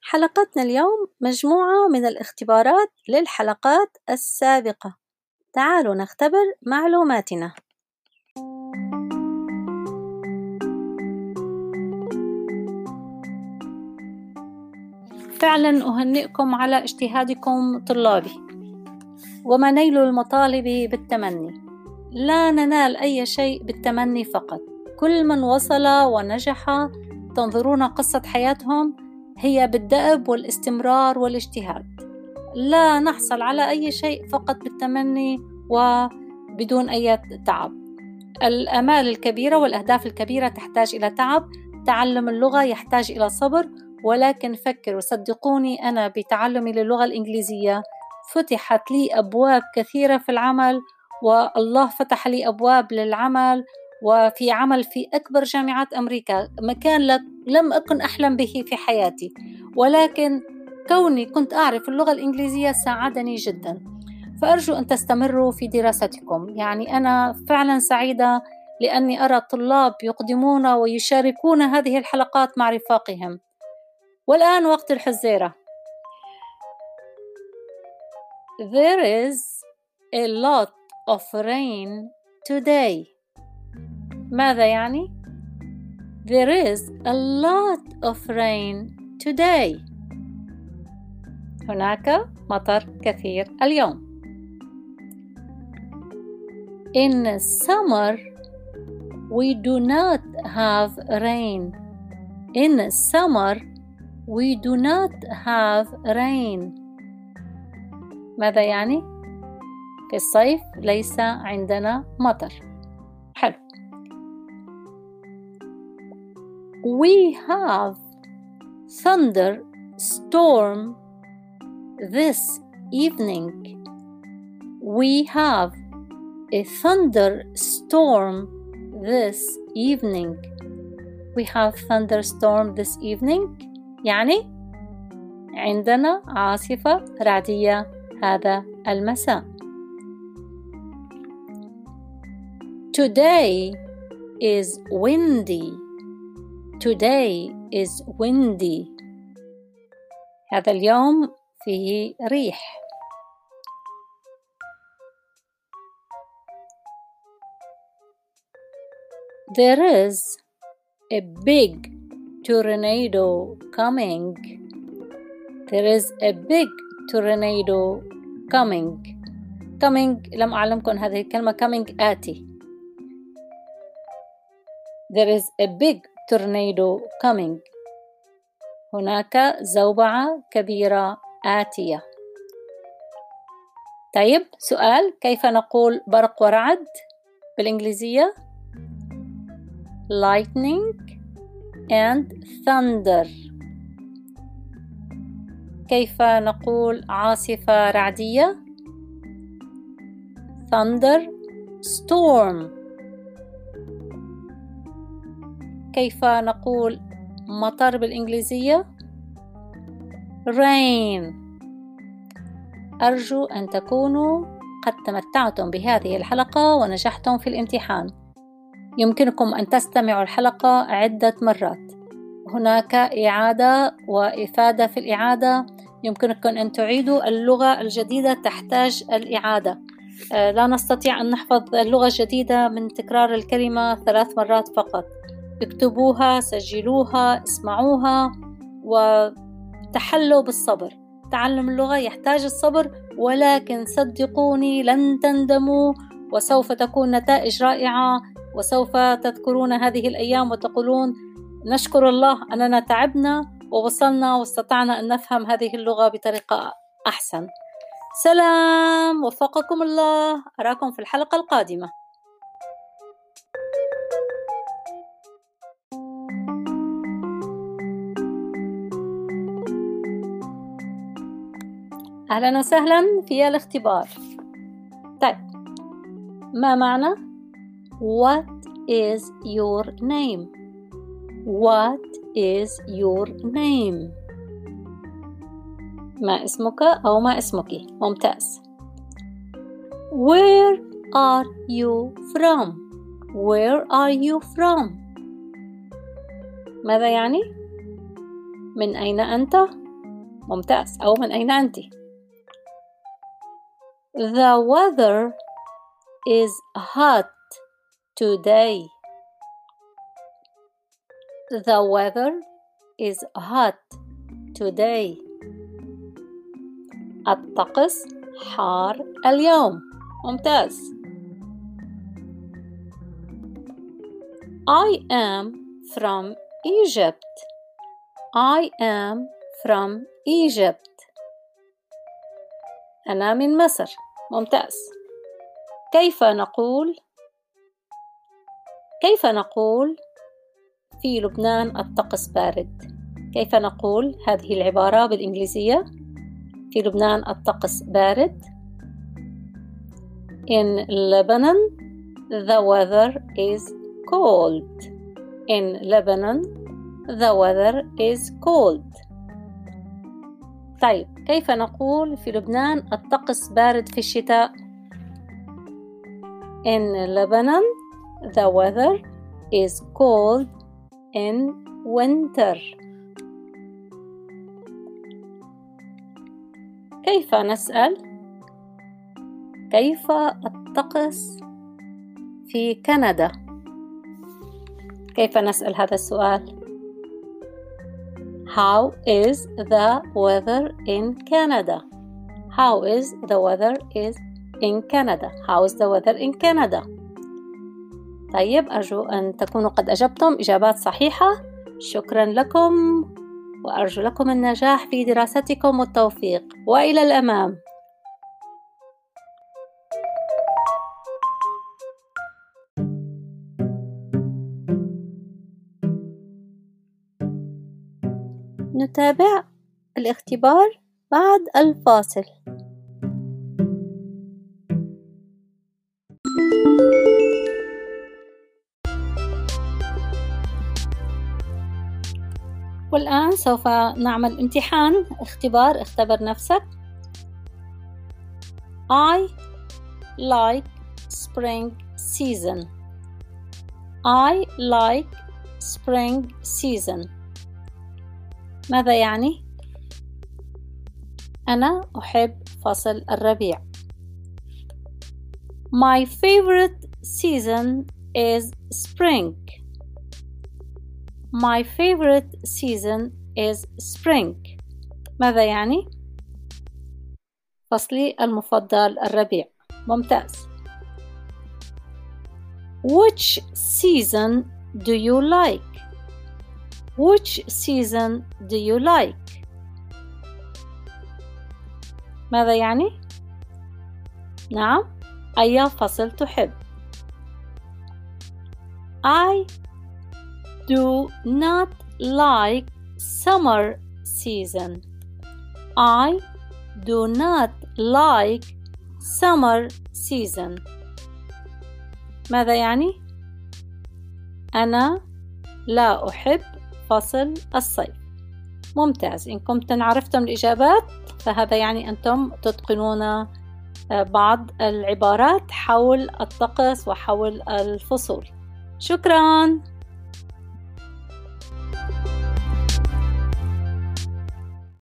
حلقتنا اليوم مجموعة من الاختبارات للحلقات السابقة. تعالوا نختبر معلوماتنا. فعلا أهنئكم على اجتهادكم طلابي، وما نيل المطالب بالتمني. لا ننال أي شيء بالتمني فقط. كل من وصل ونجح تنظرون قصة حياتهم هي بالدأب والاستمرار والاجتهاد. لا نحصل على أي شيء فقط بالتمني وبدون أي تعب. الآمال الكبيرة والأهداف الكبيرة تحتاج إلى تعب. تعلم اللغة يحتاج إلى صبر، ولكن فكروا صدقوني، أنا بتعلمي للغة الإنجليزية فتحت لي أبواب كثيرة في العمل، والله فتح لي أبواب للعمل وفي عمل في أكبر جامعات أمريكا، مكان لم أكن أحلم به في حياتي، ولكن كوني كنت أعرف اللغة الإنجليزية ساعدني جدا. فأرجو أن تستمروا في دراستكم. يعني أنا فعلا سعيدة لأني أرى الطلاب يقدمون ويشاركون هذه الحلقات مع رفاقهم. والآن وقت الحزيرة. There is a lot of rain today. ماذا يعني؟ There is a lot of rain today. هناك مطر كثير اليوم. In summer we do not have rain. In summer we do not have rain. ماذا يعني؟ في الصيف ليس عندنا مطر. حلو. We have thunderstorm this evening. We have a thunderstorm this evening. We have thunderstorm this evening. يعني عندنا عاصفة رعدية هذا المساء. Today is windy. Today is windy. هذا اليوم فيه ريح. There is a big tornado coming. There is a big tornado coming. Coming لم أعلمكم هذه الكلمة. coming آتي. There is a big tornado coming. هناك زوبعة كبيرة آتية. طيب سؤال، كيف نقول برق ورعد بالإنجليزية؟ lightning and thunder. كيف نقول عاصفة رعدية؟ thunder storm. كيف نقول مطر بالإنجليزية؟ rain. أرجو أن تكونوا قد تمتعتم بهذه الحلقة ونجحتم في الامتحان. يمكنكم أن تستمعوا الحلقة عدة مرات. هناك إعادة وإفادة في الإعادة. يمكنكم أن تعيدوا اللغة الجديدة، تحتاج الإعادة. لا نستطيع أن نحفظ اللغة الجديدة من تكرار الكلمة 3 مرات فقط. اكتبوها، سجلوها، اسمعوها، وتحلوا بالصبر. تعلم اللغة يحتاج الصبر، ولكن صدقوني لن تندموا، وسوف تكون نتائج رائعة، وسوف تذكرون هذه الأيام وتقولون نشكر الله أننا تعبنا ووصلنا واستطعنا أن نفهم هذه اللغة بطريقة أحسن. سلام، وفقكم الله. أراكم في الحلقة القادمة. أهلا وسهلا في الاختبار. طيب، ما معنى What is your name? What is your name? ما اسمك أو ما اسمك؟ ممتاز. Where are you from? Where are you from? ماذا يعني؟ من أين أنت؟ ممتاز. أو من أين أنت؟ The weather is hot today. The weather is hot today. الطقس حار اليوم. ممتاز. I am from Egypt. I am from Egypt. أنا من مصر. ممتاز. كيف نقول في لبنان الطقس بارد؟ كيف نقول هذه العبارة بالإنجليزية؟ في لبنان الطقس بارد. In Lebanon, the weather is cold. In Lebanon, the weather is cold. طيب، كيف نقول في لبنان الطقس بارد في الشتاء؟ In Lebanon, the weather is cold in winter. كيف نسأل؟ كيف الطقس في كندا؟ كيف نسأل هذا السؤال؟ How is the weather in Canada? How is the weather in Canada? How is the weather in Canada? طيب، أرجو أن تكونوا قد أجبتم إجابات صحيحة. شكرا لكم، وأرجو لكم النجاح في دراستكم والتوفيق، وإلى الأمام. نتابع الاختبار بعد الفاصل. والآن سوف نعمل امتحان اختبر نفسك. I like spring season. I like spring season. ماذا يعني؟ أنا أحب فصل الربيع. My favorite season is spring. My favorite season is spring. ماذا يعني؟ فصلي المفضل الربيع. ممتاز. Which season do you like? Which season do you like? ماذا يعني؟ نعم، أي فصل تحب؟ I do not like summer season. I do not like summer season. ماذا يعني؟ أنا لا أحب فصل الصيف. ممتاز. إن كنتم عرفتم الإجابات فهذا يعني أنتم تتقنون بعض العبارات حول الطقس وحول الفصول. شكراً.